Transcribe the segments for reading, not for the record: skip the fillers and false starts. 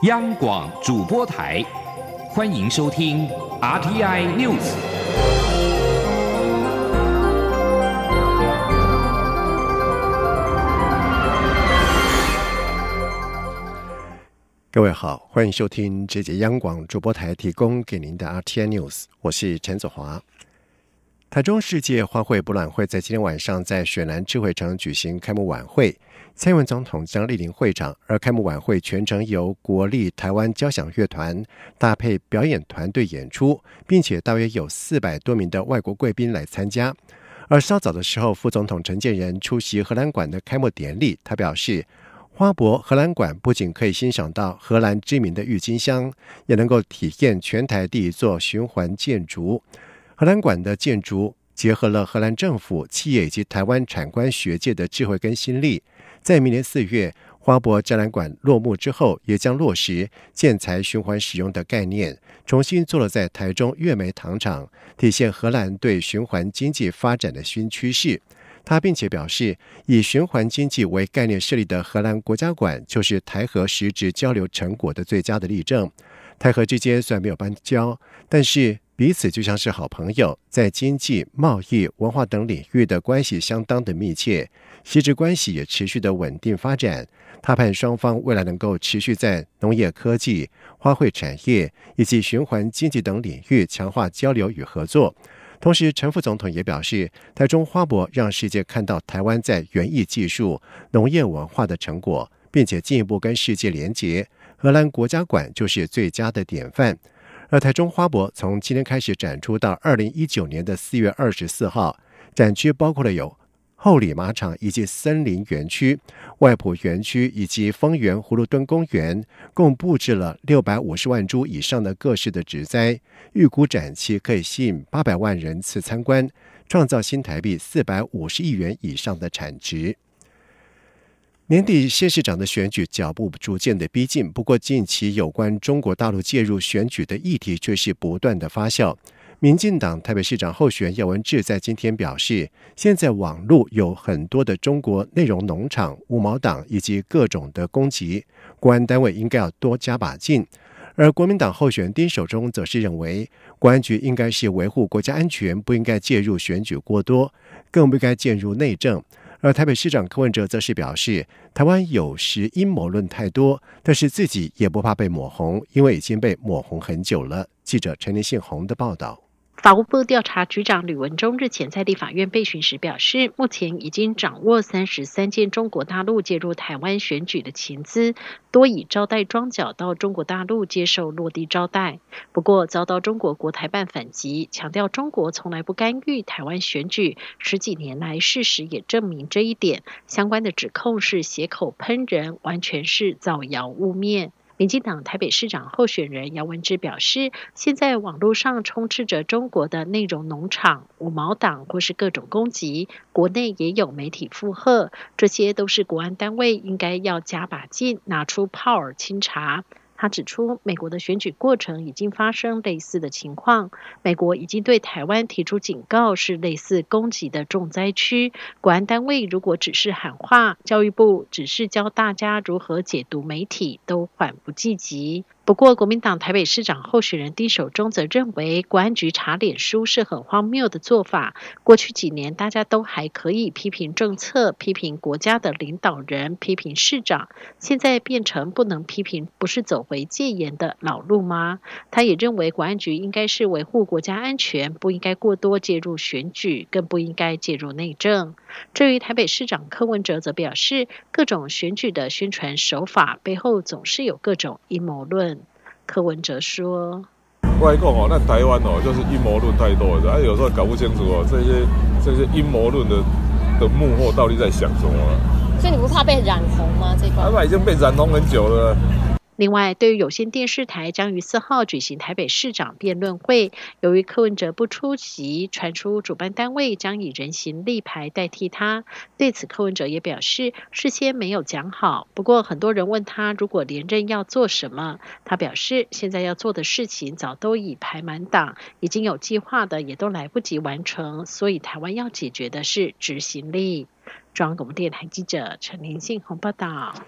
央广主播台，欢迎收听 RTI News。 各位好，欢迎收听这节央广主播台提供给您的 RTI News， 我是陈子华。台中世界花卉博览会在今天晚上在雪兰智慧城举行开幕晚会，蔡英文总统将莅临会场，而开幕晚会全程由国立台湾交响乐团搭配表演团队演出，并且大约有400多名的外国贵宾来参加。而稍早的时候，副总统陈建仁出席荷兰馆的开幕典礼，他表示，花博荷兰馆不仅可以欣赏到荷兰知名的郁金香，也能够体验全台第一座循环建筑。荷兰馆的建筑结合了荷兰政府、企业以及台湾产官学界的智慧跟心力，在明年4月花博展览馆落幕之后，也将落实建材循环使用的概念，重新做了在台中月梅糖厂，体现荷兰对循环经济发展的新趋势。他并且表示，以循环经济为概念设立的荷兰国家馆，就是台荷实质交流成果的最佳的例证。台荷之间虽然没有邦交，但是彼此就像是好朋友，在经济、贸易、文化等领域的关系相当的密切，实质关系也持续的稳定发展。他盼双方未来能够持续在农业科技、花卉产业以及循环经济等领域强化交流与合作。同时，陈副总统也表示，台中花博让世界看到台湾在园艺技术、农业文化的成果，并且进一步跟世界连结。荷兰国家馆就是最佳的典范。而台中花博从今天开始展出到2019年的4月24号，展区包括了有后里马场以及森林园区、外埔园区以及丰原葫芦墩公园，共布置了650万株以上的各式的植栽，预估展期可以吸引800万人次参观，创造新台币450亿元以上的产值。年底县市长的选举脚步逐渐的逼近，不过近期有关中国大陆介入选举的议题却是不断的发酵。民进党台北市长候选人姚文智在今天表示，现在网络有很多的中国内容农场、五毛党以及各种的攻击，国安单位应该要多加把劲。而国民党候选人丁守中则是认为，国安局应该是维护国家安全，不应该介入选举过多，更不应该介入内政。而台北市长柯文哲则是表示，台湾有时阴谋论太多，但是自己也不怕被抹红，因为已经被抹红很久了。记者陈林信宏的报道。 法务部调查局长吕文中日前在立法院备询时表示，目前已经掌握33件中国大陆介入台湾选举的情资，多以招待庄脚到中国大陆接受落地招待。不过遭到中国国台办反击，强调中国从来不干预台湾选举，10几年来事实也证明这一点，相关的指控是血口喷人，完全是造谣污蔑。民进党台北市长候选人姚文智表示，现在网络上充斥着中国的内容农场、五毛党或是各种攻击，国内也有媒体附和，这些都是国安单位应该要加把劲，拿出炮儿清查。他指出，美国的选举过程已经发生类似的情况，美国已经对台湾提出警告，是类似攻击的重灾区。国安单位如果只是喊话，教育部只是教大家如何解读媒体，都缓不济急。不过，国民党台北市长候选人丁守中则认为，国安局查脸书是很荒谬的做法。过去几年，大家都还可以批评政策、批评国家的领导人、批评市长，现在变成不能批评，不是走回戒严的老路吗？他也认为，国安局应该是维护国家安全，不应该过多介入选举，更不应该介入内政。至于台北市长柯文哲则表示，各种选举的宣传手法背后总是有各种阴谋论。柯文哲说：“ 我来讲哦，那台湾哦，就是阴谋论太多了，有时候搞不清楚哦，这些阴谋论的幕后到底在想什么？ 所以你不怕被染红吗？这块已经被染红很久了。” 另外，对于有线电视台将于4号举行台北市长辩论会，由于柯文哲不出席，传出主办单位将以人形立牌代替他。对此，柯文哲也表示事先没有讲好。不过，很多人问他如果连任要做什么，他表示现在要做的事情早都已排满档，已经有计划的也都来不及完成，所以台湾要解决的是执行力。中央广播电台记者陈林信宏报道。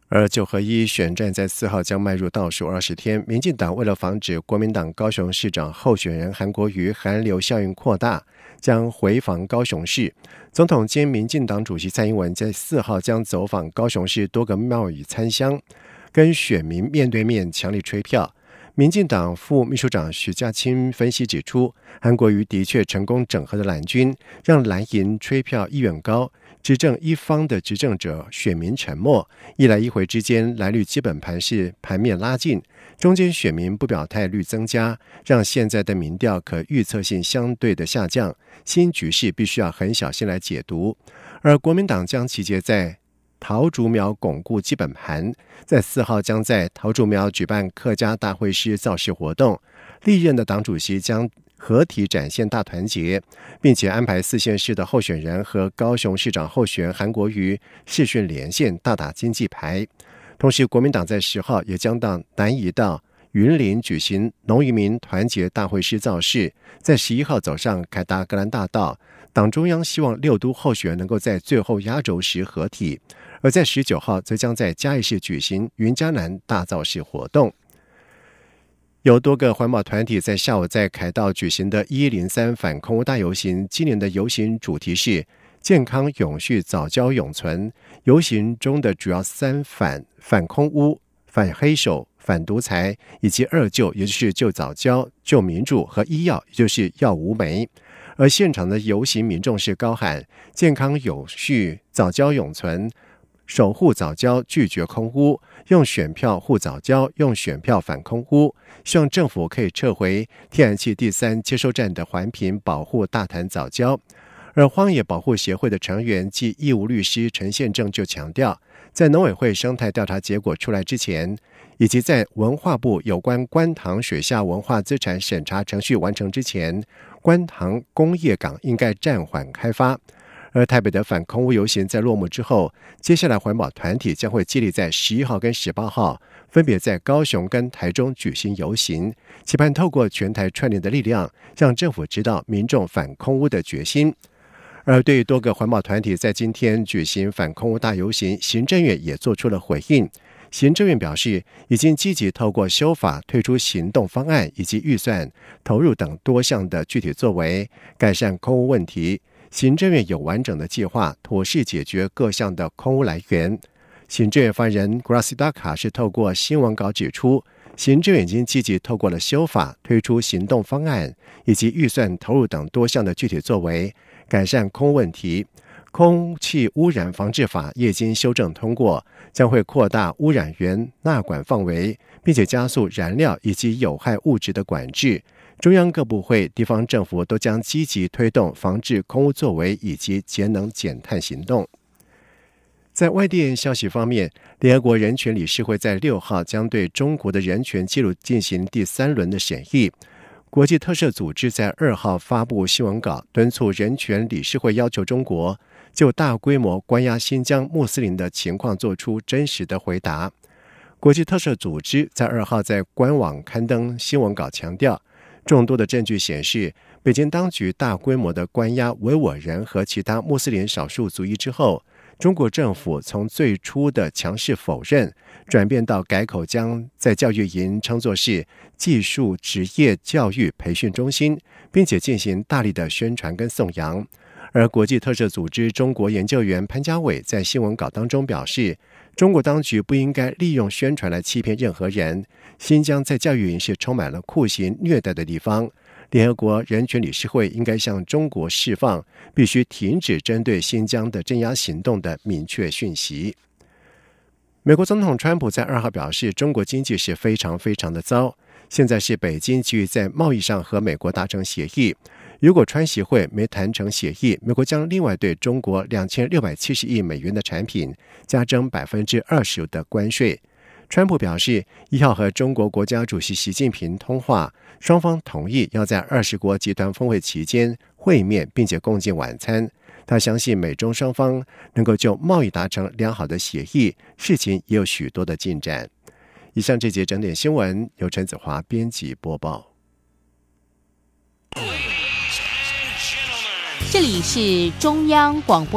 而9合1选战在4号将迈入倒数20天，民进党为了防止国民党高雄市长候选人韩国瑜韩流效应扩大，将回访高雄市。总统兼民进党主席蔡英文在4号将走访高雄市多个庙宇参香，跟选民面对面强力吹票。民进党副秘书长许家清分析指出，韩国瑜的确成功整合了蓝军，让蓝营吹票意愿高，执政一方的执政者选民沉默，一来一回之间蓝绿基本盘是盘面拉近，中间选民不表态率增加，让现在的民调可预测性相对的下降，新局势必须要很小心来解读。而国民党将集结在桃竹苗巩固基本盘，在4号将在桃竹苗举办客家大会师造势活动，历任的党主席将合体展现大团结，并且安排4县市的候选人和高雄市长候选人韩国瑜视讯连线，大打经济牌。同时，国民党在10号也将到南移到云林举行农渔民团结大会师造势，在11号走上凯达格兰大道。党中央希望6都候选人能够在最后压轴时合体，而在19号则将在嘉义市举行云嘉南大造势活动。有多个环保团体在下午在凯道举行的1103反空污大游行，今年的游行主题是健康永续早教永存。游行中的主要3反空污、反黑手、反独裁以及2救，也就是救早教、救民主和医药，也就是药无酶。而现场的游行民众是高喊健康永续早教永存，守护早教，拒绝空污，用选票护早教，用选票反空污，希望政府可以撤回天然气第3接收站的环评，保护大潭早教。而荒野保护协会的成员暨义务律师陈宪正就强调，在农委会生态调查结果出来之前，以及在文化部有关观塘水下文化资产审查程序完成之前，观塘工业港应该暂缓开发。而台北的反空污游行在落幕之后，接下来环保团体将会接力在11号跟18号分别在高雄跟台中举行游行，期盼透过全台串联的力量，让政府知道民众反空污的决心。而对于多个环保团体在今天举行反空污大游行，行政院也做出了回应。行政院表示，已经积极透过修法推出行动方案以及预算投入等多项的具体作为，改善空污问题。行政院有完整的计划，妥善解决各项的空污来源。行政院发言人 Graciela Daca 是透过新闻稿指出，行政院已经积极透过了修法推出行动方案以及预算投入等多项的具体作为，改善空污问题。空气污染防治法也经修正通过，将会扩大污染源纳管范围，并且加速燃料以及有害物质的管制。中央各部会、地方政府都将积极推动防治空污作为以及节能减碳行动。在外电消息方面，联合国人权理事会在6号将对中国的人权记录进行第3轮的审议。国际特赦组织在2号发布新闻稿，敦促人权理事会要求中国就大规模关押新疆穆斯林的情况做出真实的回答。国际特赦组织在2号在官网刊登新闻稿，强调众多的证据显示，北京当局大规模的关押维吾尔人和其他穆斯林少数族裔之后，中国政府从最初的强势否认，转变到改口将在教育营称作是技术职业教育培训中心，并且进行大力的宣传跟颂扬。而国际特赦组织中国研究员潘家伟在新闻稿当中表示，中国当局不应该利用宣传来欺骗任何人。新疆在教育营是充满了酷刑虐待的地方，联合国人权理事会应该向中国释放必须停止针对新疆的镇压行动的明确讯息。美国总统川普在2号表示，中国经济是非常非常的糟，现在是北京急于在贸易上和美国达成协议，如果川协会没谈成协议，美国将另外对中国2670亿美元的产品加征 20% 的关税。川普表示，1号和中国国家主席习近平通话，双方同意要在20国集团峰会期间会面，并且共进晚餐。他相信美中双方能够就贸易达成良好的协议，事情也有许多的进展。以上这节整点新闻由陈子华编辑播报。 这里是中央广播